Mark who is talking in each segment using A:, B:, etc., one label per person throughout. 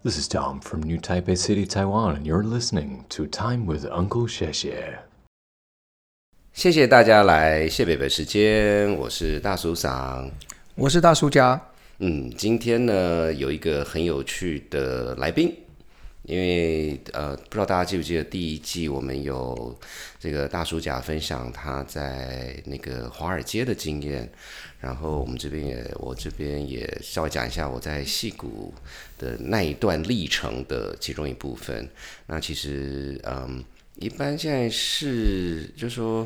A: This is Tom from New Taipei City, Taiwan, and you're listening to Time with Uncle Xie.
B: 谢谢大家来谢北北时间，我是大叔桑，
C: 我是大叔家。
B: 今天呢有一个很有趣的来宾，因为不知道大家记不记得第一季我们有这个大叔甲分享他在那个华尔街的经验，然后我这边也稍微讲一下我在矽谷的那一段历程的其中一部分。那其实一般现在是就是说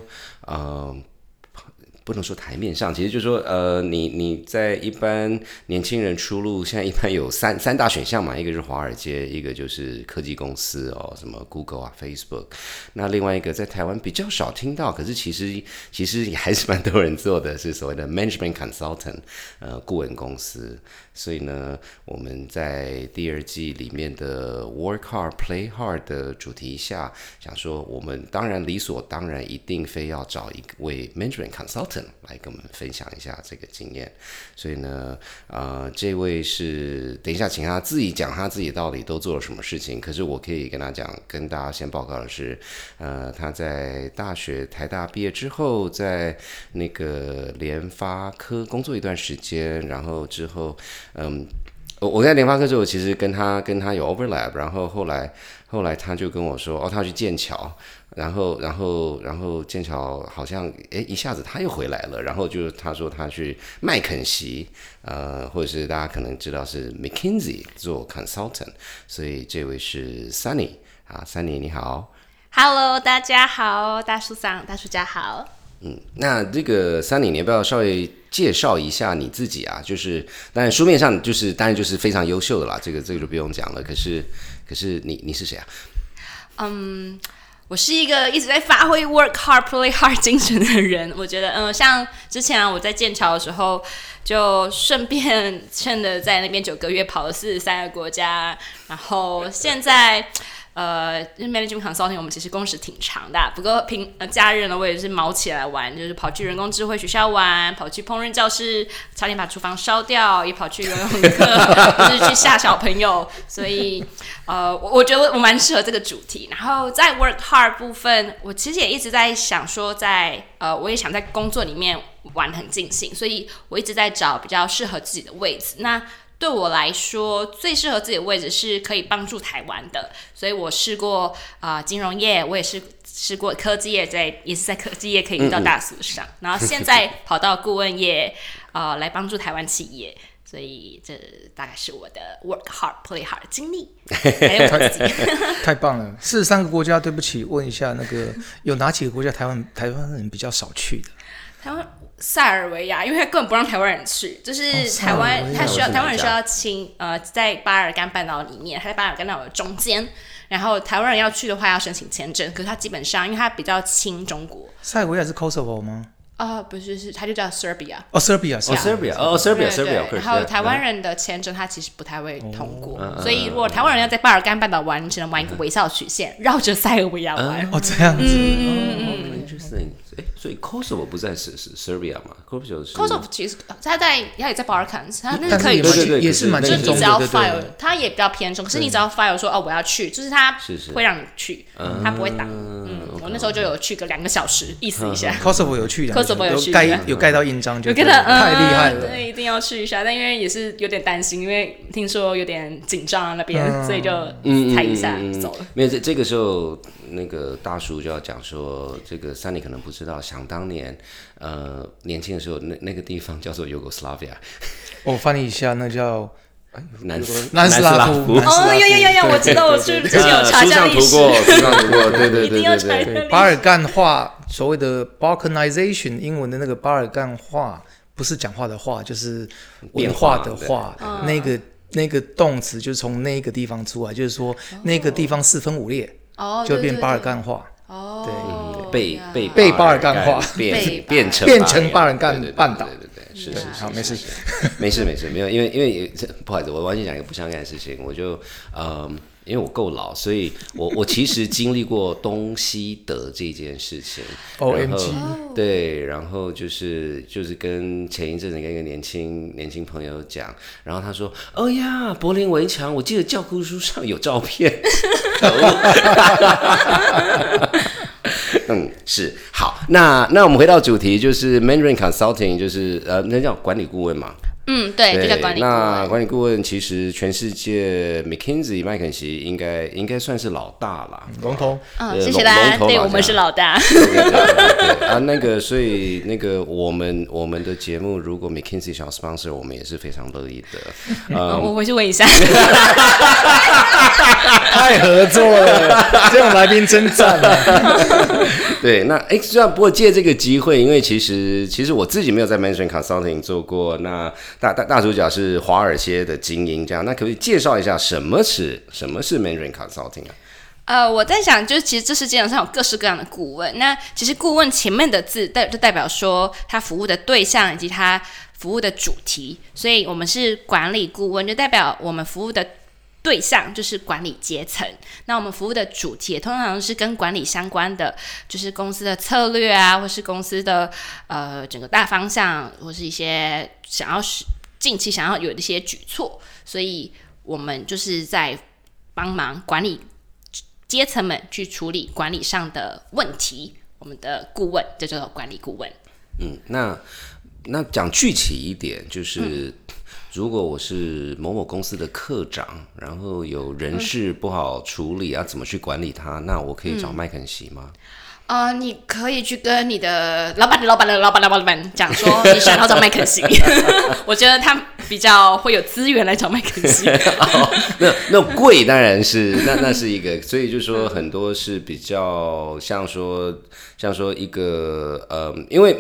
B: 不能说台面上，其实就是说你在一般年轻人出路，现在一般有三大选项嘛，一个是华尔街，一个就是科技公司哦，什么 Google 啊 Facebook， 那另外一个在台湾比较少听到，可是其实也还是蛮多人做的，是所谓的 management consultant 顾问公司。所以呢，我们在第二季里面的 work hard play hard 的主题下，想说我们当然理所当然一定非要找一位 management consultant 来跟我们分享一下这个经验。所以呢，这位是等一下请他自己讲他自己到底都做了什么事情。可是我可以跟大家先报告的是，他在大学台大毕业之后，在那个联发科工作一段时间，然后之后。我在联发科之后，其实跟他有 overlap， 然后后来他就跟我说，他要去剑桥，然后剑桥好像一下子他又回来了，然后就他说他去麦肯锡，或者是大家可能知道是 McKinsey 做 consultant， 所以这位是 Sunny 啊 ，Sunny 你好
D: ，Hello 大家好，大叔桑大叔家好。
B: 那这个Sunny你要不要稍微介绍一下你自己啊？就是当然书面上当然就是非常优秀的啦，这个就不用讲了。可是你是谁啊？
D: 我是一个一直在发挥 work hard play hard 精神的人。我觉得像之前我在剑桥的时候，就顺便趁着在那边9个月跑了43个国家，然后现在。management consulting 我们其实工时挺长的，不过假日呢，我也是毛起来玩，就是跑去人工智慧学校玩，跑去烹饪教室，差点把厨房烧掉，也跑去游泳课，就是去吓小朋友。所以我觉得我蛮适合这个主题。然后在 work hard 部分，我其实也一直在想说我也想在工作里面玩得很尽兴，所以我一直在找比较适合自己的位置。那对我来说，最适合自己的位置是可以帮助台湾的，所以我试过金融业，我也试过科技业，也是在科技业可以遇到大叔上，然后现在跑到顾问业，来帮助台湾企业，所以这大概是我的 work hard play hard 的经历，还有我自己。
C: 太棒了！43个国家，对不起，问一下那个有哪几个国家台湾人比较少去的？
D: 台湾塞尔维亚，因为他根本不让台湾人去，就是台湾人需要在巴尔干半岛里面，他在巴尔干半岛的中间，然后台湾人要去的话要申请签证，可是他基本上因为他比较亲中国。
C: 塞尔维亚是 Kosovo 吗？
D: 不是，他就叫 Serbia。
B: Serbia。
D: 然后台湾人的签证他其实不太会通过，所以如果台湾人要在巴尔干半岛玩，你只能玩一个微笑曲线，绕着塞尔维亚玩。
C: 这样子。
B: Interesting。所以 Kosovo 不在是 Serbia 嘛
D: ？Kosovo 其实他也在 Balkans， 他那是可以
C: 去，也是蛮
D: 就
C: 近的。
D: 你只要 file， 他也比较偏中，可是你只要 file 说我要去，就是他会让你去，他不会挡。我那时候就有去个2个小时，意思一下。
C: Kosovo 有去
D: ，Kosovo 有去，
C: 有盖到印章，就太厉害了。
D: 对，一定要去一下。但因为也是有点担心，因为听说有点紧张那边，所以就踩一下走了。
B: 没有，这个时候那个大叔就要讲说，这个Sunny可能不知道，想当年年轻的时候，那个地方叫做 Yugoslavia。
C: 我翻译一下，那叫
B: 南斯
C: 拉夫。
D: 有，我知道，我之前有查一下历史，
B: 书上读过，对。
D: 一定要查一下历史。
C: 巴尔干话，所谓的 Balkanization， 英文的那个巴尔干话，不是讲话的话，就是文化的话。那个动词就是从那个地方出来，就是说那个地方4分5裂，就变巴尔干话。
B: 对，
C: 被巴尔干化，
B: 变成
C: 巴尔干半岛。
B: 对，是，
C: 好，没事，
B: 没事，没有，因为不好意思，我完全讲一个不相干的事情，我就因为我够老，所以我其实经历过东西德这件事情。
C: OMG，
B: 对，然后就是跟前一阵子跟一个年轻朋友讲，然后他说：“哦呀，柏林围墙，我记得教科书上有照片。”是好，那我们回到主题，就是 Mandarin Consulting， 就是那叫管理顾问嘛。
D: 对，就叫管理顾问。
B: 那管理顾问其实全世界 McKinsey 麦肯锡应该算是老大啦，
C: 龙头。
D: 谢谢大家，对我们是老大。
B: 对啊，所以我们的节目如果 McKinsey 想要 sponsor， 我们也是非常乐意的。
D: 我回去问一下。
C: 太合作了，这种来宾真赞啊！
B: 对，那虽然不过借这个机会，因为其实我自己没有在 Mandarin Consulting 做过，那大主角是华尔街的精英，这样，那可不可以介绍一下什么是 Mandarin Consulting 啊？
D: 我在想，就是其实这世界上有各式各样的顾问。那其实顾问前面的字就代表说他服务的对象以及他服务的主题，所以我们是管理顾问，就代表我们服务的对象就是管理阶层。那我们服务的主题也通常是跟管理相关的，就是公司的策略啊，或是公司的整个大方向，或是一些近期想要有的一些举措。所以我们就是在帮忙管理阶层们去处理管理上的问题。我们的顾问就叫做管理顾问。
B: 那讲具体一点，就是如果我是某某公司的科长，然后有人事不好处理怎么去管理它？那我可以找麦肯锡吗？
D: 你可以去跟你的老板讲说你想要找麦肯锡。我觉得他比较会有资源来找麦肯锡。
B: 那贵当然是那是一个，所以就说很多是比较像说一个因为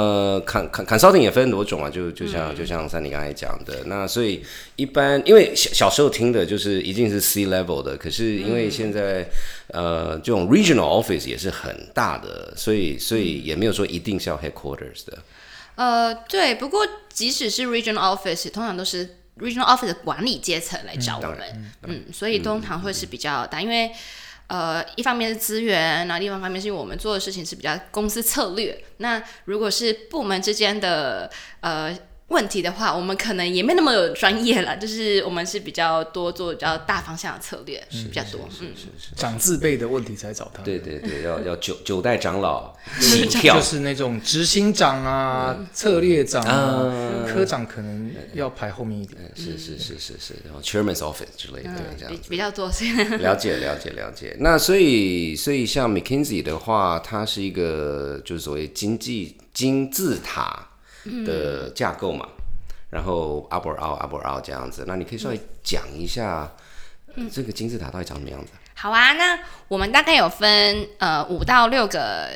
B: consulting 也分很多种啊，就像Sandy刚才讲的，那所以一般因为小时候听的就是一定是 C level 的，可是因为现在这种 regional office 也是很大的，所以也没有说一定是要 headquarters 的。
D: 对，不过即使是 regional office， 通常都是 regional office 的管理阶层来找我们。所以通常会是比较大，因为一方面是资源，然后另外一方面是因为我们做的事情是比较公司策略。那如果是部门之间的问题的话，我们可能也没那么有专业了，就是我们是比较多做比较大方向的策略，是比较多。
C: 长字辈的问题才找他。
B: 对，要九代长老起跳，
C: 就是那种执行长啊、策略长啊、科长可能要排后面一点。
B: 是，然后 Chairman's Office 之类的，这样子
D: 比较多。
B: 了解。那所以像 McKinsey 的话，它是一个就是所谓金字塔的架构嘛，然后 upward 这样子。那你可以稍微讲一下这个金字塔到底长什么样子？
D: 好啊，那我们大概有分5到6个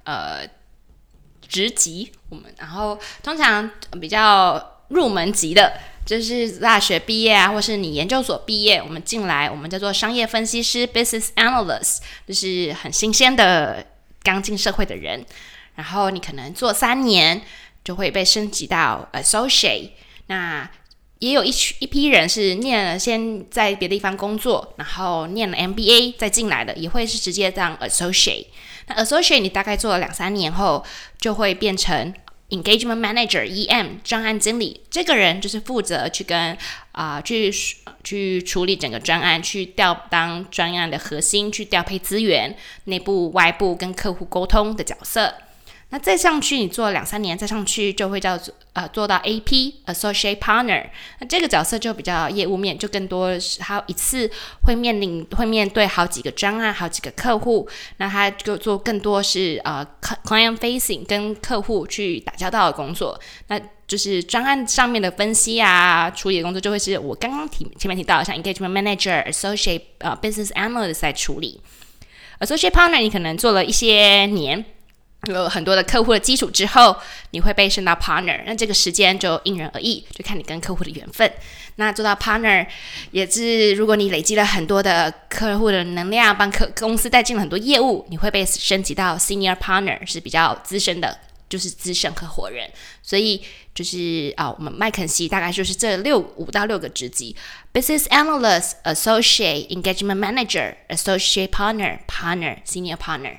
D: 职级，然后通常比较入门级的，就是大学毕业啊，或是你研究所毕业，我们进来，我们叫做商业分析师 （business analyst）， 就是很新鲜的刚进社会的人。然后你可能做3年。就会被升级到 associate。 那也有一批人是念了先在别的地方工作，然后念了 MBA 再进来的，也会是直接当 associate。 那 associate 你大概做了2-3年后就会变成 engagement manager EM 专案经理。这个人就是负责去跟去处理整个专案，去当专案的核心，去调配资源，内部外部跟客户沟通的角色。那再上去，你做了2-3年，再上去就会做到 AP Associate Partner。那这个角色就比较业务面，就更多他一次会面对好几个专案、好几个客户。那他就做更多是client facing 跟客户去打交道的工作。那就是专案上面的分析啊、处理的工作，就会是我刚刚前面提到的，像 Engagement Manager、Associate Business Analyst 在处理。Associate Partner 你可能做了一些年。有很多的客户的基础之后，你会被升到 partner， 那这个时间就因人而异，就看你跟客户的缘分。那做到 partner 也是，如果你累积了很多的客户的能量，帮公司带进了很多业务，你会被升级到 senior partner， 是比较资深的就是资深合伙人。所以就是我们麦肯锡大概就是这5到6个职级 ：Business Analyst、Associate、Engagement Manager、Associate Partner、Senior Partner。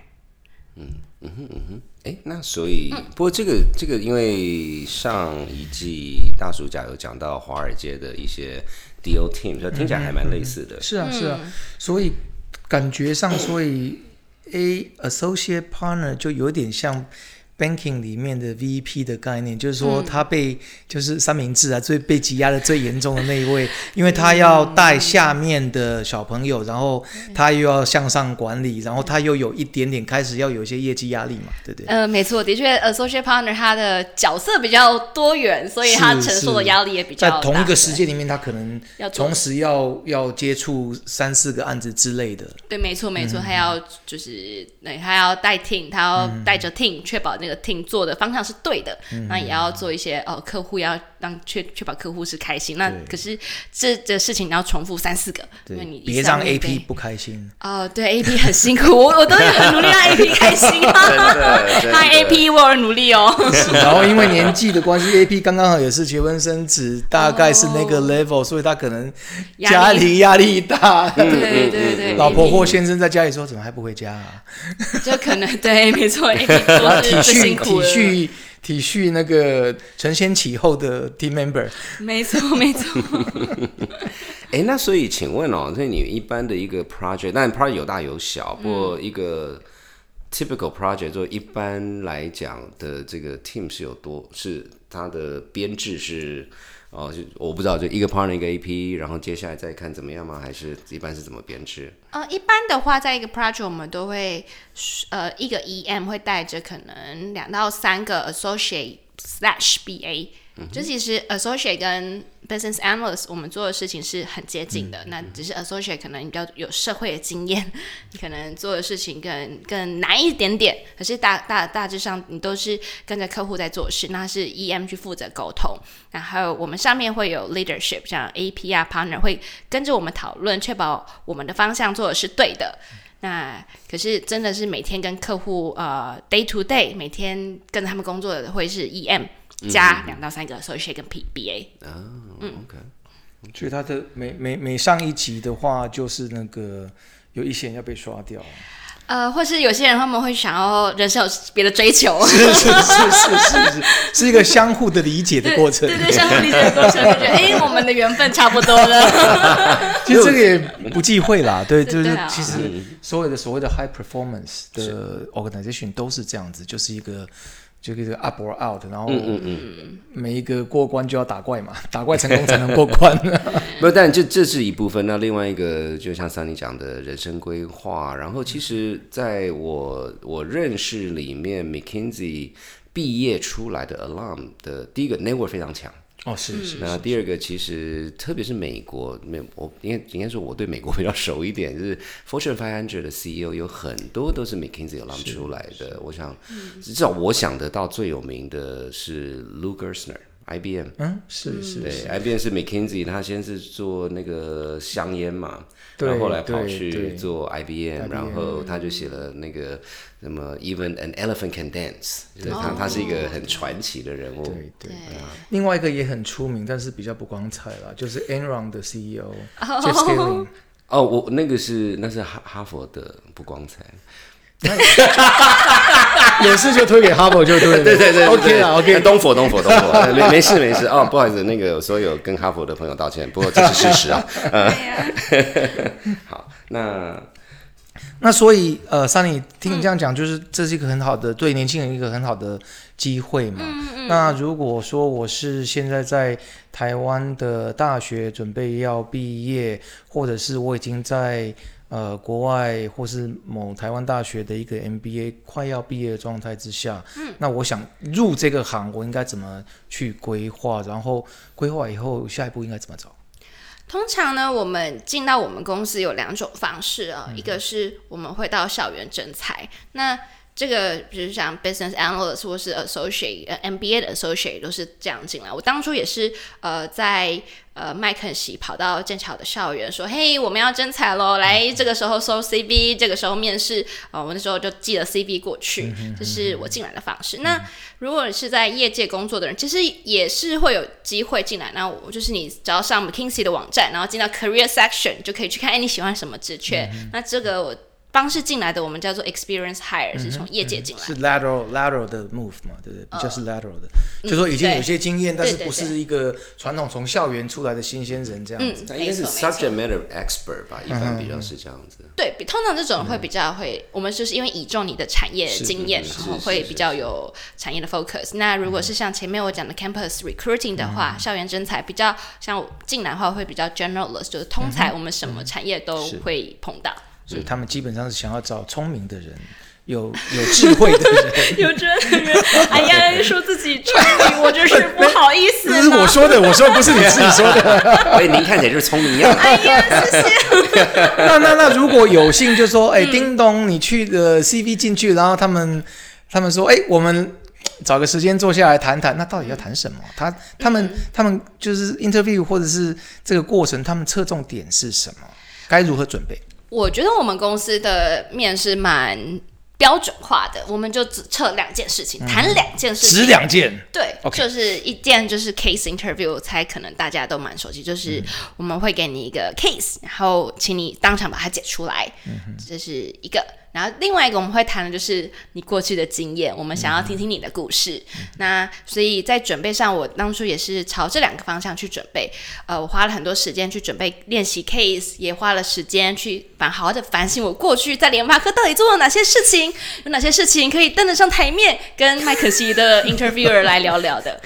B: 那所以，不过这个，因为上一季大暑假有讲到华尔街的一些 deal team， 所以听起来还蛮类似的。
C: 是啊，所以感觉上，associate partner 就有点像 banking 里面的 VP 的概念，就是说他就是三明治啊，被挤压的最严重的那一位，因为他要带下面的小朋友，然后他又要向上管理，然后他又有一点点开始要有一些业绩压力嘛，对不对？
D: 没错，的确 associate partner 他的角色比较多元，所以他承受的压力也比较大。
C: 在同一个时间里面，他可能同时要接触3-4个案子之类的。
D: 对，没错，他要就是他要带 team， 他要带着 team， 确保那个 team 做的方向是对的，那也要做一些客户要让确保客户是开心。那可是这事情你要重复3-4个，因为你
C: 别让 AP 不开心。
D: 对 AP 很辛苦，我都很努力让 AP 开心嗨 AP 我有努力哦。
C: 然后因为年纪的关系，AP 刚刚好也是结婚生子，大概是那个 level，所以他可能家里压力大。
D: 对，
C: 老婆或先生在家里说怎么还不回家啊？
D: 就可能对，没错，都是最辛苦的。
C: 体恤那个承先启后的 team member。
D: 没错。
B: 那所以请问所以你一般的一个 project， 但 project 有大有小，不过一个 typical project 就一般来讲的这个 team 是它的编制是我不知道，就一个 partner 一个 AP， 然后接下来再看怎么样吗？还是一般是怎么编制？
D: 一般的话，在一个 project 我们都会一个 EM 会带着可能2到3个 associate/BA。就其实 associate 跟 business analyst 我们做的事情是很接近的，那只是 associate 可能你比较有社会的经验，你可能做的事情更难一点点，可是大致上你都是跟着客户在做事，那是 EM 去负责沟通，然后我们上面会有 leadership， 像 AP 啊 partner 会跟着我们讨论，确保我们的方向做的是对的。那可是真的是每天跟客户day to day 每天跟着他们工作的会是 EM加2到3个 associate 跟 BA。
B: OK。
C: 所以他的每上一集的话，就是那个有一些人要被刷掉。
D: 或是有些人他们会想要人生有别的追求，
C: 是一个相互的理解的过程。
D: 对，相互理解的过程，就觉得我们的缘分差不多了。
C: 其实这个也不忌讳啦，对，就是其实所谓的 high performance 的 organization 都是这样子，就是一个 up or out， 然后每一个过关就要打怪嘛，打怪成功才能过关。
B: 不，但这是一部分。那另外一个，就像Sunny讲的人生规划，然后其实在我认识里面 ，McKinsey 毕业出来的 alum 的第一个 network 非常强。
C: 是。
B: 那第二个，其实特别是美国，我应该说我对美国比较熟一点，就是 Fortune 500的 CEO 有很多都是 McKinsey alum 出来的。我想，至少我想得到最有名的是 Lou Gerstner。IBM，
C: 是，
B: 对 ，IBM 是 McKinsey， 他先是做那个香烟嘛，然后后来跑去做 IBM， 然后他就写了那个什么 Even an Elephant Can Dance， 就是他是一个很传奇的人物。
C: 对。另外一个也很出名，但是比较不光彩啦，就是 Enron 的 CEO Jeff Skilling。
B: 我那是哈佛的不光彩。
C: 有事就推给哈佛就对了。
B: 对
C: OK 啦 OK。
B: 东佛没事不好意思，那个所有跟哈佛的朋友道歉，不过这是事实啊。好，
C: 那所以Sunny 听你这样讲，就是这是一个很好的对年轻人一个很好的机会嘛。那如果说我是现在在台湾的大学准备要毕业，或者是我已经在国外或是某台湾大学的一个 MBA 快要毕业的状态之下，那我想入这个行，我应该怎么去规划？然后规划以后下一步应该怎么走？
D: 通常呢，我们进到我们公司有2种方式啊，一个是我们会到校园征才，那这个比如像 business analyst 或是 associate MBA 的 associate 都是这样进来。我当初也是在麦肯锡跑到剑桥的校园说，嘿，我们要征才咯，来这个时候收 CV， 这个时候面试，我那时候就寄了 CV 过去，这是我进来的方式。那如果是在业界工作的人，其实也是会有机会进来。那我就是你只要上 McKinsey 的网站，然后进到 Career Section， 就可以去看，你喜欢什么职缺。那这个我方式进来的，我们叫做 experience hire， 是从业界进来的，
C: 是 lateral 的 move 嘛，对不对？比较是 lateral 的，就说已经有些经验，但是不是一个传统从校园出来的新鲜人这样子。
B: 应该是 subject matter expert 吧，一般比较是这样子。
D: 对，通常这种会比较会，我们就是因为倚重你的产业经验，然后会比较有产业的 focus。那如果是像前面我讲的 campus recruiting 的话，校园征才比较像我进来的话会比较 generalist， 就是通才，我们什么产业都会碰到。
C: 所以他们基本上是想要找聪明的人，有智慧的人，
D: 有智慧的人。哎呀，说自己聪明，我真是不好意思。
C: 这是我说的，不是你自己说的。
B: 喂，您看起来就是聪明样。
D: 哎呀，谢谢。
C: 那如果有幸就说，叮咚，你去的 CV 进去，然后他们说，我们找个时间坐下来谈谈，那到底要谈什么？他们就是 interview 或者是这个过程，他们侧重点是什么？该如何准备？我
D: 觉得我们公司的面试蛮标准化的，我们就只测2件事情，谈2件事情，
C: 只2件。
D: 对， okay. 就是一件就是 case interview， 我猜可能大家都蛮熟悉，就是我们会给你一个 case， 然后请你当场把它解出来，这是一个。然后另外一个我们会谈的就是你过去的经验，我们想要听听你的故事。那所以在准备上，我当初也是朝这2个方向去准备。我花了很多时间去准备练习 case， 也花了时间去好好的反省我过去在联发科到底做了哪些事情，有哪些事情可以登得上台面，跟麦肯锡的 interviewer 来聊聊的。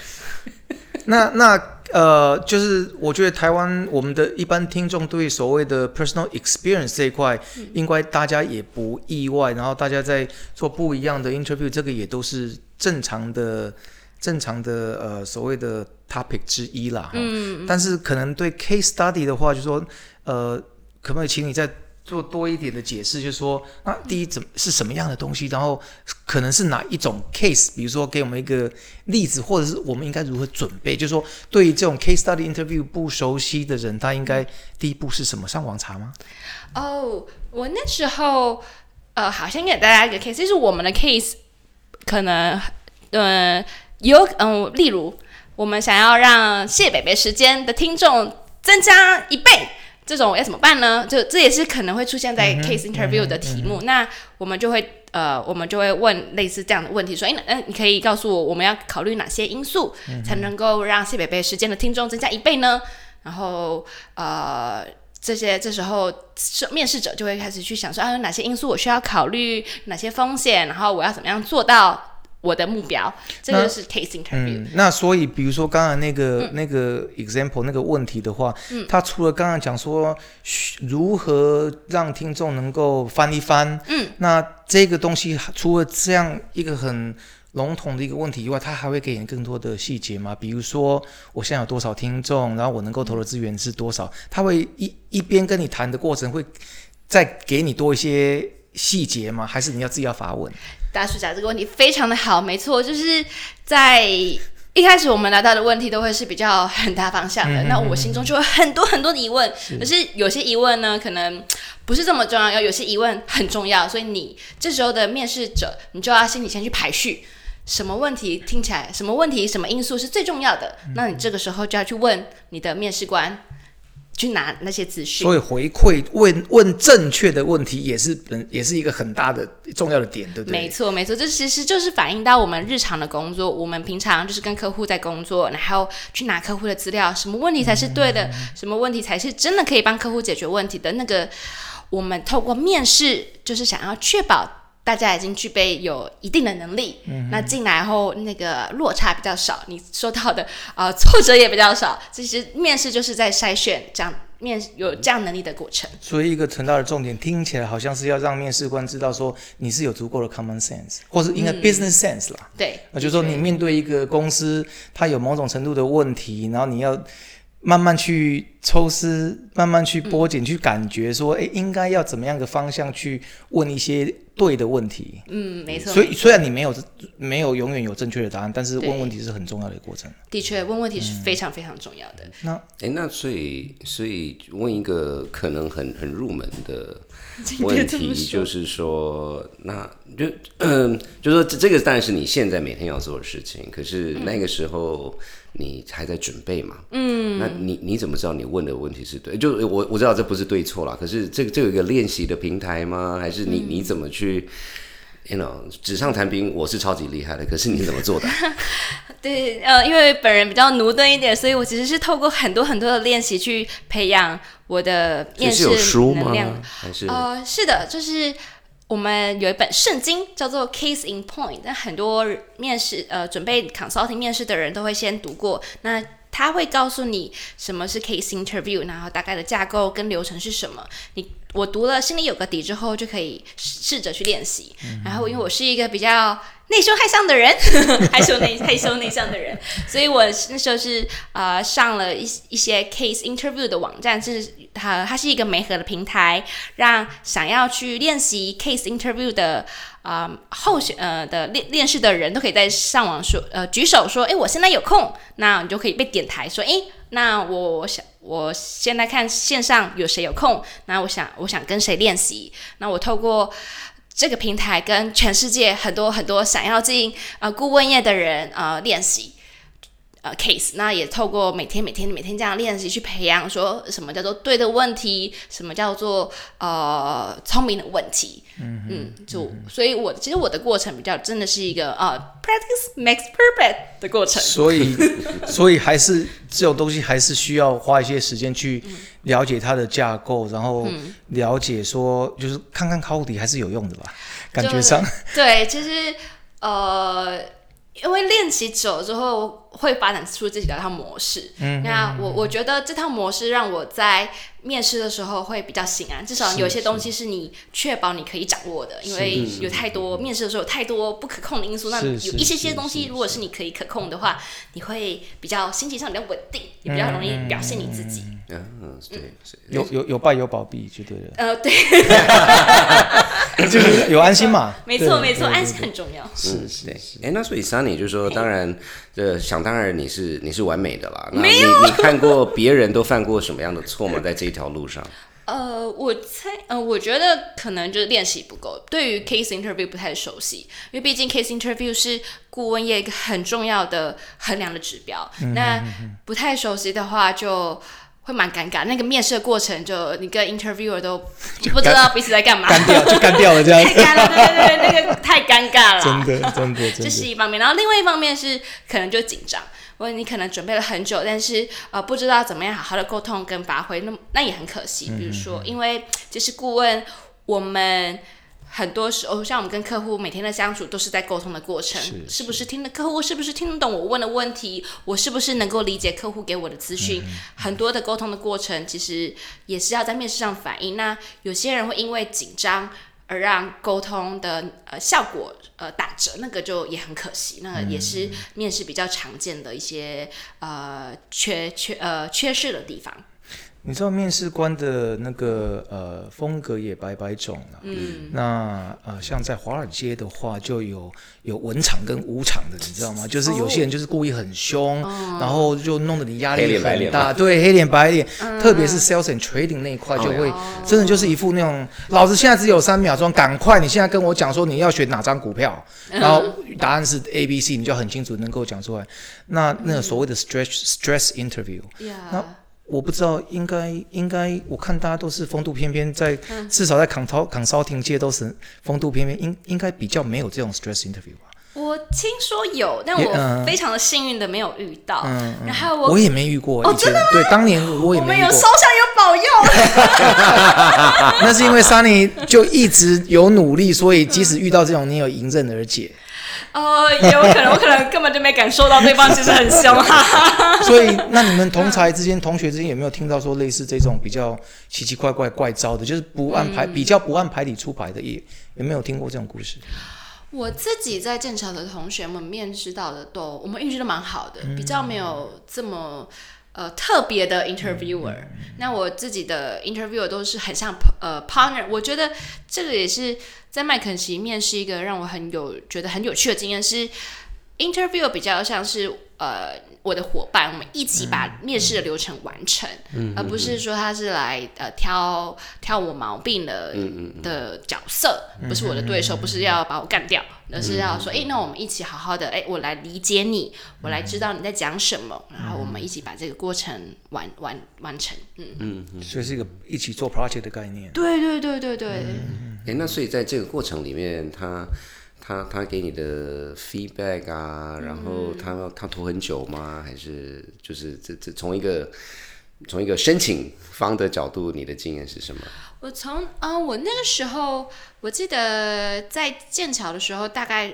C: 就是我觉得台湾我们的一般听众对所谓的 personal experience 这一块，应该大家也不意外，然后大家在做不一样的 interview， 这个也都是正常的所谓的 topic 之一啦。但是可能对 case study 的话，就说可不可以请你再做多一点的解释，就是说，那第一是什么样的东西，然后可能是哪一种 case， 比如说给我们一个例子，或者是我们应该如何准备，就是说对于这种 case study interview 不熟悉的人，他应该第一步是什么？上网查吗？
D: 我那时候好像给大家一个 case， 就是我们的 case 可能例如我们想要让谢北北时间的听众增加1倍。这种要怎么办呢？这也是可能会出现在 case interview 的题目。那我们就会问类似这样的问题，说，你可以告诉我们要考虑哪些因素才能够让谢北北时间的听众增加1倍呢？然后这时候面试者就会开始去想说，有哪些因素我需要考虑，哪些风险，然后我要怎么样做到我的目标，这个是 case interview。
C: 那所以比如说刚才那个 example 那个问题的话，他除了刚刚讲说如何让听众能够翻一翻，那这个东西除了这样一个很笼统的一个问题以外，他还会给你更多的细节吗？比如说我现在有多少听众，然后我能够投的资源是多少，他会一边跟你谈的过程会再给你多一些细节吗？还是你要自己要发问？
D: 大叔讲这个问题非常的好，没错，就是在一开始我们拿到的问题都会是比较很大方向的，那我心中就会很多很多的疑问，可是有些疑问呢可能不是这么重要，有些疑问很重要，所以你这时候的面试者，你就要心里先去排序，什么问题听起来，什么问题，什么因素是最重要的，那你这个时候就要去问你的面试官，去拿那些资讯。
C: 所以回馈问正确的问题也是一个很大的重要的点，对不对？
D: 没错没错，这其实就是反映到我们日常的工作，我们平常就是跟客户在工作，然后去拿客户的资料，什么问题才是对的，什么问题才是真的可以帮客户解决问题的，那个我们透过面试就是想要确保大家已经具备有一定的能力，那进来后那个落差比较少，你收到的挫折也比较少。其实面试就是在筛选这样有这样能力的过程。
C: 所以一个很大的重点，听起来好像是要让面试官知道说你是有足够的 common sense， 或是应该 business sense 啦。
D: 对，
C: 就是说你面对一个公司，它有某种程度的问题，然后你要慢慢去抽丝，慢慢去剥茧，去感觉说，应该要怎么样的方向去问一些对的问题。
D: 没错。
C: 所以虽然你没有永远有正确的答案，但是问问题是很重要的一个过程。
D: 的确，问问题是非常非常重要的。
B: 那所以问一个可能很入门的问题，就是说，那就说这个当然是你现在每天要做的事情，可是那个时候你还在准备嘛？那你怎么知道你问的问题是对？就我知道这不是对错啦，可是这有一个练习的平台吗？还是你怎么去纸上谈兵？我是超级厉害的，可是你怎么做的？
D: 对，因为本人比较驽钝一点，所以我其实是透过很多很多的练习去培养我的面试能量。
B: 是有书吗？还是
D: 是的，就是我们有一本圣经叫做 Case in Point， 但很多面试准备 consulting 面试的人都会先读过。那他会告诉你什么是 case interview， 然后大概的架构跟流程是什么。我读了，心里有个底之后，就可以试着去练习。然后因为我是一个比较内羞害臊的人，害羞内向的人，所以我那时候是上了一些 case interview 的网站，它是一个媒合的平台，让想要去练习 case interview 的的面试的人都可以在上网说举手说，我现在有空，那你就可以被点台说，那我现在看线上有谁有空，那我想跟谁练习，那我透过这个平台跟全世界很多很多想要进顾问业的人练习case， 那也透过每天这样练习去培养，说什么叫做对的问题，什么叫做聪明的问题。所以其实我的过程比较真的是一个practice makes perfect 的过程。
C: 所以还是这种东西还是需要花一些时间去了解它的架构，然后了解说就是看看考题还是有用的吧，感觉上。
D: 对，其实因为练习久了之后会发展出自己的一套模式。那我觉得这套模式让我在面试的时候会比较心安，至少有些东西是你确保你可以掌握的，因为有太多面试的时候有太多不可控的因素，那有一些东西如果是你可以可控的话，你会比较心情上比较稳定，也比较容易表现你自己。
B: 对，
C: 有败有保庇就对了。
D: 对，
C: 就是有安心嘛。
D: 没错，安心很重要。
B: 是。那所以 Sunny 就是说，当然，想当然你是完美的啦。那你看过别人都犯过什么样的错吗？在这一条路上？
D: 我觉得可能就是练习不够，对于 case interview 不太熟悉，因为毕竟 case interview 是顾问业一个很重要的衡量的指标。那不太熟悉的话就会蛮尴尬，那个面试的过程就你跟 interviewer 都不知道彼此在干嘛，
C: 干掉了这样。
D: 太干了，对，那个太尴尬了，
C: 真的，
D: 这是一方面。然后另外一方面是可能就紧张，因为你可能准备了很久，但是不知道怎么样好好的沟通跟发挥，那也很可惜。比如说，因为其实顾问我们很多时候，像我们跟客户每天的相处，都是在沟通的过程。是不是客户是不是听得懂我问的问题？我是不是能够理解客户给我的资讯？很多的沟通的过程，其实也是要在面试上反映。那有些人会因为紧张而让沟通的效果打折，那个就也很可惜。那个也是面试比较常见的一些缺失的地方。
C: 你知道面试官的那个风格也百种了。那像在华尔街的话，就有文场跟武场的，你知道吗？就是有些人就是故意很凶，然后就弄得你压力很大。对，黑脸白脸，特别是 sales and trading 那一块，就会真的就是一副那种，老子现在只有3秒钟，赶快你现在跟我讲说你要选哪张股票，然后答案是 ABC， 你就很清楚能够讲出来。那个所谓的 stress interview， 那我不知道，应该，我看大家都是风度翩翩，至少在 consulting 界都是风度翩翩，应该比较没有这种 stress interview 吧。
D: 我听说有，但我非常的幸运的没有遇到。然后
C: 我也没遇过。
D: 真的吗？
C: 对，当年我也没遇过。我
D: 们有烧香有保佑。
C: 那是因为 Sunny 就一直有努力，所以即使遇到这种，你有迎刃而解。
D: 也有可能，我可能根本就没感受到对方其实很凶。
C: 所以，那你们同才之间、同学之间有没有听到说类似这种比较奇奇怪怪、怪招的，就是比较不按牌理出牌的，有没有听过这种故事？
D: 我自己在剑桥的同学们面试到的我们运气都蛮好的，比较没有这么特别的 interviewer，那我自己的 interviewer 都是很像partner， 我觉得这个也是在麦肯锡面试一个让我觉得很有趣的经验是 interviewer 比较像是我的伙伴，我们一起把面试的流程完成，而不是说他是来挑我毛病的角色，不是我的对手，不是要把我干掉，而是要说，那我们一起好好的，我来理解你，我来知道你在讲什么，然后我们一起把这个过程完成。
C: 所以是一个一起做 project 的概念。
D: 对。
B: 那所以在这个过程里面，他给你的 feedback 啊，然后他拖很久吗？还是就是这从一个申请方的角度，你的经验是什么？
D: 我那个时候我记得在剑桥的时候，大概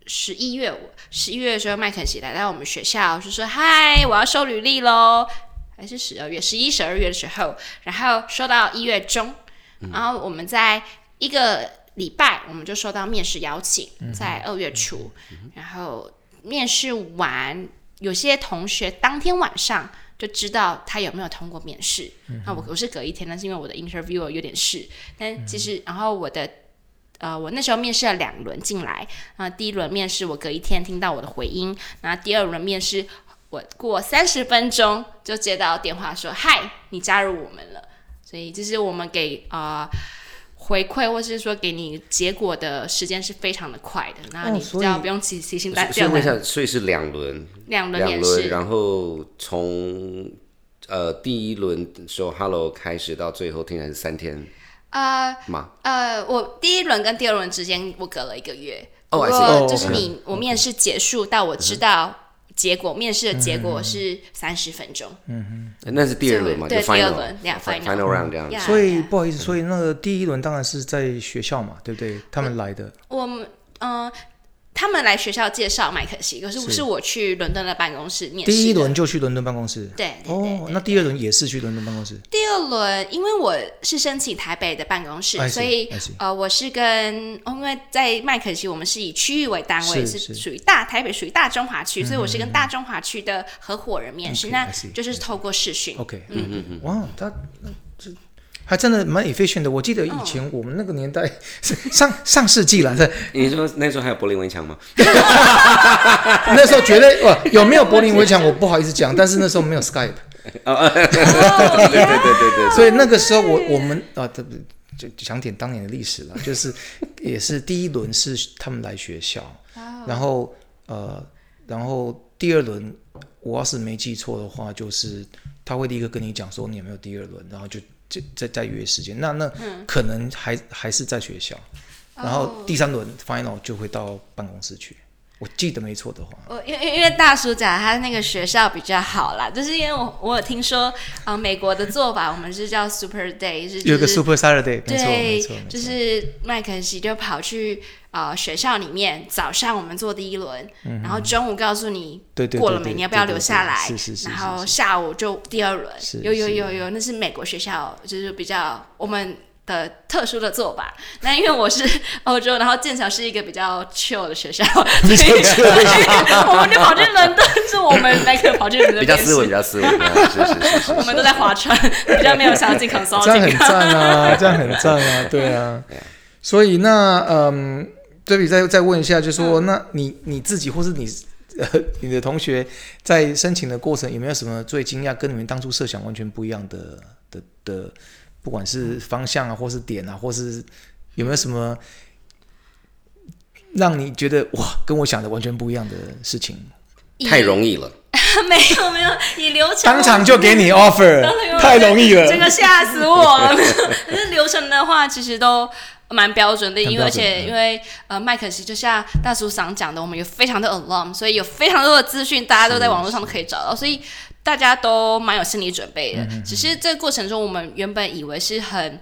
D: 11月的时候，麦肯锡来到我们学校，就说嗨，我要收履历咯，还是12月的时候，然后收到1月中，然后我们在一个礼拜我们就收到面试邀请，在2月初，然后面试完，有些同学当天晚上就知道他有没有通过面试。那我是隔一天，但是因为我的 interviewer 有点事，但其实然后我那时候面试了2轮进来，第一轮面试我隔一天听到我的回音，然后第二轮面试我过30分钟就接到电话说嗨，你加入我们了。所以就是我们给回馈或是说给你结果的时间是非常的快的，然后你比较不用提心担
B: 忧。所以是2轮
D: 面试，
B: 然后从第一轮说 hello 开始到最后听起来是3天吗？
D: 我第一轮跟第二轮之间我隔了1个月，就是我面试结束到我知道面试的结果是30分钟。
B: 那是第二轮嘛？
D: 对，
B: 就
D: 第二轮
B: final round 这样子。
C: 所以不好意思，所以那个第一轮当然是在学校嘛，对不对？他们来的。
D: 他们来学校介绍麦肯锡，可是我去伦敦的办公室面试。
C: 第一轮就去伦敦办公室。
D: 对。
C: 那第二轮也是去伦敦办公室。
D: 第二轮因为我是申请台北的办公室，所以我是因为在麦肯锡我们是以区域为单位，是属于台北属于大中华区，所以我是跟大中华区的合伙人面试，那就是透过视讯。
C: 哇，这还真的蛮 efficient 的。我记得以前我们那个年代上世纪了，
B: 你说那时候还有柏林围墙吗？
C: 那时候绝对有没有柏林围墙我不好意思讲，但是那时候没有 Skype。对，所以那个时候我们就讲点当年的历史了，就是也是第一轮是他们来学校，然后第二轮我要是没记错的话，就是他会立刻跟你讲说你有没有第二轮，然后就再约时间，那可能还是在学校，然后第3轮 final 就会到办公室去。我记得没错的话，
D: 因为大叔讲他那个学校比较好啦，就是因为我有听说美国的做法，我们是叫 Super Day，
C: 有个 Super Saturday，
D: 没错，就是麦肯锡就跑去学校里面，早上我们做第一轮，然后中午告诉你过了没，你要不要留下来，然后下午就第二轮，有，那是美国学校，就是比较我们的特殊的做法。那因为我是欧洲，然后剑桥是一个比较 chill 的学校，所以我们就跑去伦敦，是我们那个跑去伦敦
B: 比较斯文，是
D: 我们都在划船，比较没有相信 consulting。
C: 这样很赞啊，这样很赞啊，对啊。所以那这里再问一下，就是说那你自己或是你的同学在申请的过程有没有什么最惊讶跟你们当初设想完全不一样的不管是方向啊或是点啊，或是有没有什么让你觉得哇跟我想的完全不一样的事情？
B: 太容易了。
D: 没有，以流程
C: 当场就给你 offer， 太容易了，
D: 这个吓死我了。可是流程的话其实都蛮标准的，因为麦肯锡就像大叔桑讲的，我们有非常的 alum， 所以有非常多的资讯，大家都在网络上都可以找到，所以大家都蛮有心理准备的。只是这个过程中，我们原本以为是很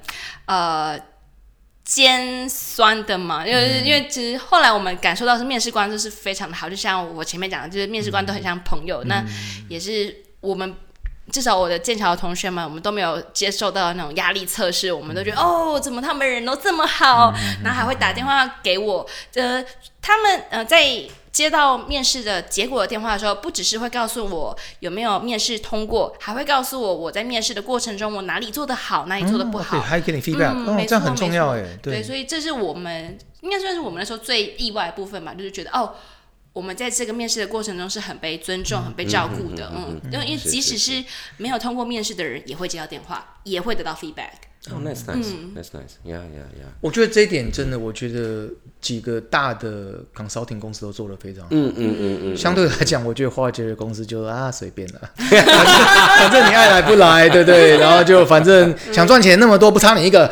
D: 尖酸的嘛，因为其实后来我们感受到是面试官就是非常的好，就像我前面讲的，就是面试官都很像朋友，那也是我们。至少我的剑桥的同学们，我们都没有接受到那种压力测试，我们都觉得怎么他们人都这么好，然后还会打电话给我。他们在接到面试的结果的电话的时候，不只是会告诉我有没有面试通过，还会告诉我在面试的过程中我哪里做得好，哪里做得不好，
C: 还给你 feedback，这样很重要哎。
D: 对，所以这是我们应该算是我们那时候最意外的部分吧，就是觉得我们在这个面试的过程中是很被尊重、很被照顾的，因为即使是没有通过面试的人，也会接到电话，也会得到 feedback。
B: That's nice. Yeah.
C: 我觉得这一点真的，我觉得几个大的 consulting 公司都做得非常好。相对来讲，我觉得华尔街的公司就随便了，反正你爱来不来，对不对？然后就反正想赚钱那么多，不差你一个，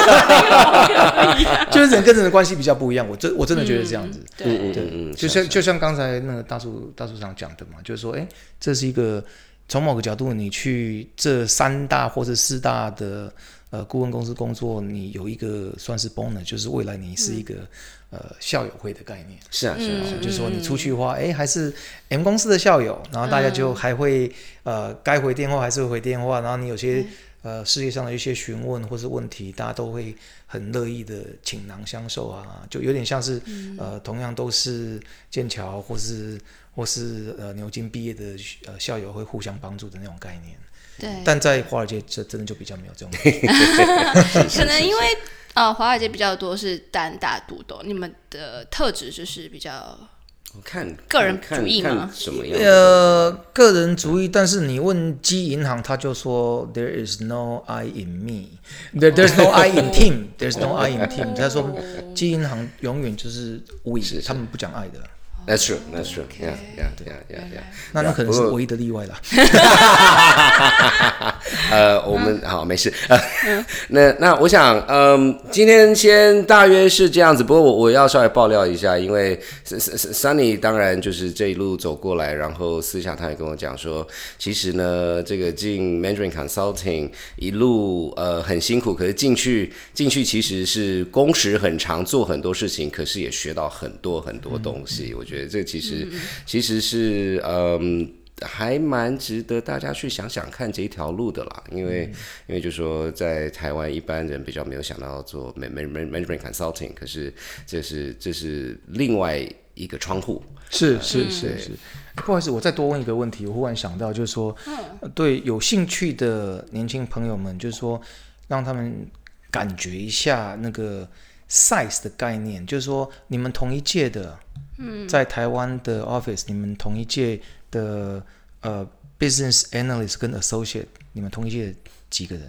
C: 就是人跟人的关系比较不一样。我真的觉得这样子。对，就像刚才那个大树长讲的嘛，就是说，这是一个从某个角度，你去这3大或者4大的。顾问公司工作，你有一个算是 bonus， 就是未来你是一个校友会的概念。
B: 是啊，
C: 就是说你出去的话，还是 M 公司的校友，然后大家就还会该回电话还是会回电话，然后你有些事业上的一些询问或是问题，大家都会很乐意的倾囊相授啊，就有点像是同样都是剑桥或是牛津毕业的校友会互相帮助的那种概念。
D: 对，
C: 但在华尔街这真的就比较没有这种
D: 可能因为华尔街比较多是单打独斗，你们的特质就是比较
B: 看
D: 个人主义吗？
B: 什么样
C: 个人主义，但是你问基银行，他就说 There is no I in me, there's no I in team, there's no I in team。他说基银行永远就是 we， 他们不讲爱的。
B: That's true. Yeah.
C: 那可能是唯一的例外啦。
B: 我们好没事。那我想，今天先大约是这样子。不过我要稍微爆料一下，因为 Sunny 当然就是这一路走过来，然后私下他也跟我讲说，其实呢，这个进 Mandarin Consulting 一路很辛苦，可是进去其实是工时很长，做很多事情，可是也学到很多东西。我觉得这其实是还蛮值得大家去想想看这一条路的啦，因为就说在台湾一般人比较没有想到做 management consulting， 可是这是另外一个窗户。
C: 是。不好意思，我再多问一个问题，我忽然想到，就是说，对有兴趣的年轻朋友们，就是说让他们感觉一下那个 size 的概念，就是说你们同一届的。在台湾的 office， 你们同一届的business analyst 跟 associate， 你们同一届几个人？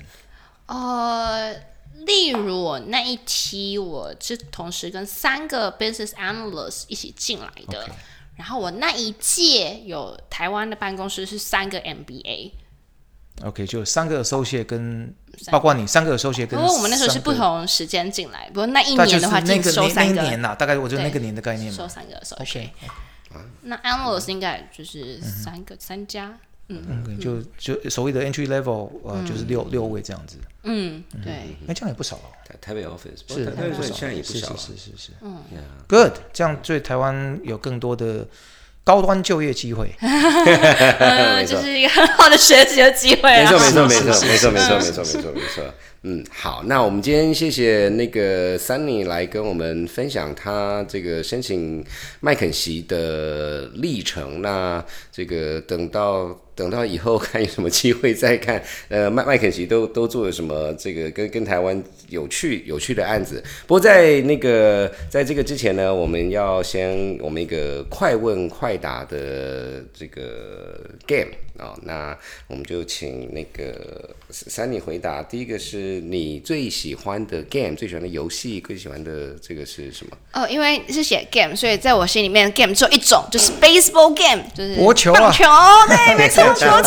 D: 例如我那一期，我是同时跟3个 business analyst 一起进来的，然后我那一届有台湾的办公室是3个 MBA。OK，
C: 就3个 associate 跟包括你3个 associate 跟。
D: 不过我们那时候是不同时间进来，不过那一年的话，就收3个。
C: 那一年啦，大概我觉得那个年的概念嘛。
D: 收3个 associate。那 analyst 应该就是3家。
C: 就所谓的 entry level， 就是6位这样子。
D: 对。
C: 这样也不少哦。
B: 台北 office 是，台北现在也不少。是。
C: Good， 这样对台湾有更多的。高端就业机会，
D: 就是一个很好的学习的机会啊！
B: 没错。好，那我们今天谢谢那个 Sunny 来跟我们分享他这个申请麦肯锡的历程。那这个等到以后看有什么机会再看，麦肯锡都做了什么这个跟台湾有趣的案子。不过在这个之前呢，我们要先我们一个快问快答的这个 game 那我们就请那个Sunny回答。第一个是你最喜欢的 game， 最喜欢的游戏，最喜欢的这个是什么？因为是写 game， 所以在我心里面 game 只有一种，就是 baseball game， 就是
C: 棒球，
D: 对，没错。球，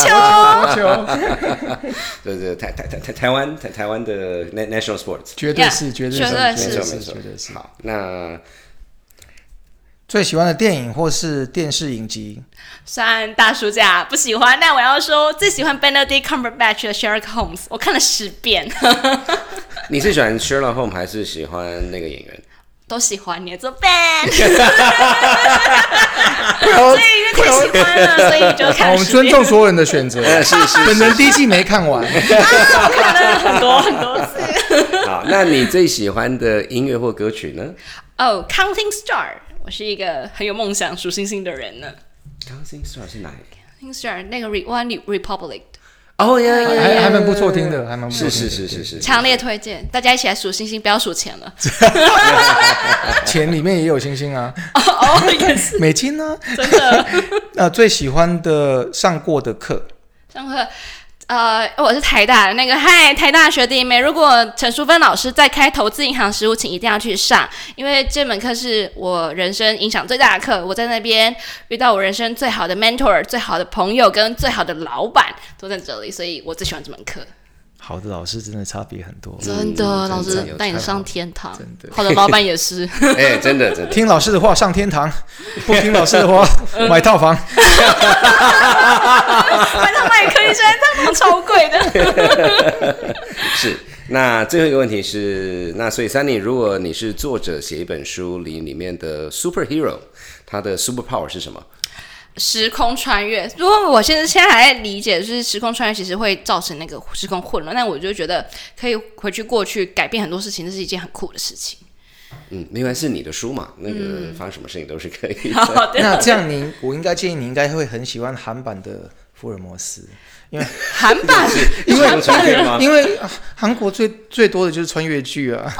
B: 对，台湾的 national sports，
C: 绝对是。
B: 好，那
C: 最喜欢的电影或是电视影集？
D: 算大暑假不喜欢，但我要说最喜欢 Benedict Cumberbatch 的 Sherlock Holmes， 我看了10遍。
B: 你是喜欢 Sherlock Holmes 还是喜欢那个演员？
D: 都喜欢你做 band， 所以因为太喜欢了，所以就看。
C: 我们尊重所有人的选择。
B: 是。
C: 本人第一季没看完，
D: 我看了很多次。
B: 好，那你最喜欢的音乐或歌曲呢
D: ？Counting Star， 我是一个很有梦想、数星星的人呢。
B: Counting Star 是哪一个
D: ？Counting Star 那个 One Republic。
B: 哦呀，
C: 还蛮不错听的，还蛮不错听的。
B: 是，
D: 强烈推荐，大家一起来数星星，不要数钱了。
C: 钱里面也有星星啊，
D: 也是
C: 美金啊，
D: 真的。
C: 最喜欢的上过的课，
D: 我是台大的那个台大学弟妹。如果陈淑芬老师在开投资银行实务，请一定要去上，因为这门课是我人生影响最大的课。我在那边遇到我人生最好的 mentor、最好的朋友跟最好的老板都在这里，所以我最喜欢这门课。
C: 好的老师真的差别很多，
D: 真的，老师带你上天堂。好的老板也是，
B: 真的，
C: 听老师的话上天堂，不听老师的话买套房。
D: 买套房也可以，现在套房超贵的。
B: 是。那最后一个问题是，那所以 Sunny， 如果你是作者写一本书里面的 superhero， 他的 super power 是什么？
D: 时空穿越。如果我现在还在理解，就是时空穿越其实会造成那个时空混乱，那我就觉得可以回去过去改变很多事情，这是一件很酷的事情。
B: 另外是你的书嘛，那个发生什么事情都是可以的。
C: 那这样我应该建议你应该会很喜欢韩版的福尔摩斯，因为
D: 韩版
C: 因为韩国最多的就是穿越剧啊。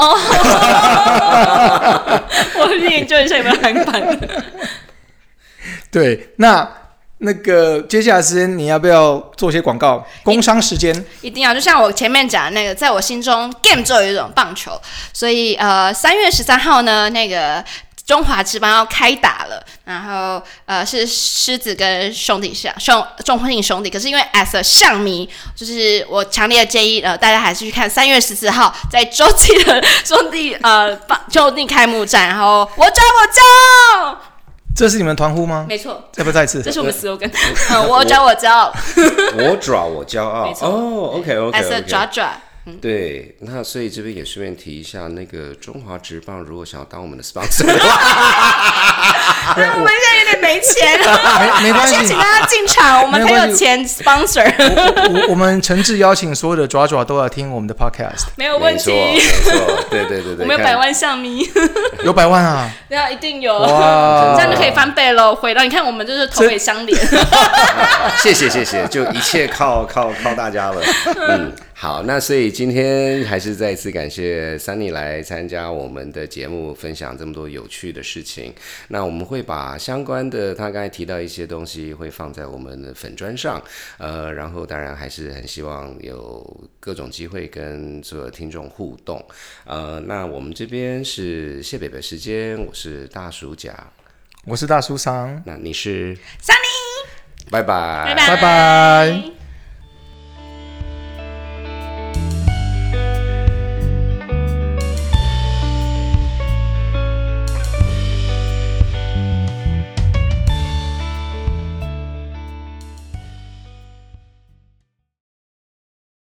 D: 我去研究一下有没有韩版的。
C: 对，那个接下来时间你要不要做些广告？工商时间
D: 一定要，就像我前面讲的那个，在我心中 game 就有一种棒球，所以3月13号呢，那个中华职棒要开打了，然后是狮子跟中华兄弟，可是因为 as a 象迷，就是我强烈的建议大家还是去看3月14号在洲际的兄弟开幕战，然后我找我骄傲。
C: 这是你们团呼吗？
D: 没错，
C: 要不要再一次？
D: 这是我们 slogan。我找我骄傲，
B: 我爪我骄傲。
D: 没错。
B: OK。
D: as a 爪。
B: 对，那所以这边也顺便提一下，那个中华职棒如果想要当我们的 sponsor 的话，
D: 我们现在有点没钱，
C: 没关系，
D: 先请大家进场，我们才有钱 sponsor。
C: 我们诚挚邀请所有的爪爪都要听我们的 podcast，
D: 没有问题，
B: 没错，对，
D: 我们有100万象迷，
C: 有100万啊，
D: 对啊，一定有，
C: 哇，
D: 这样就可以翻倍了。回到你看，我们就是头尾相连。
B: 谢谢，就一切靠大家了。好，那所以今天还是再一次感谢 Sunny 来参加我们的节目，分享这么多有趣的事情。那我们会把相关的他刚才提到一些东西会放在我们的粉专上，然后当然还是很希望有各种机会跟所有听众互动。那我们这边是谢北北时间，我是大叔甲，
C: 我是大叔桑，
B: 那你是
D: Sunny，
B: 拜拜。
C: 拜拜。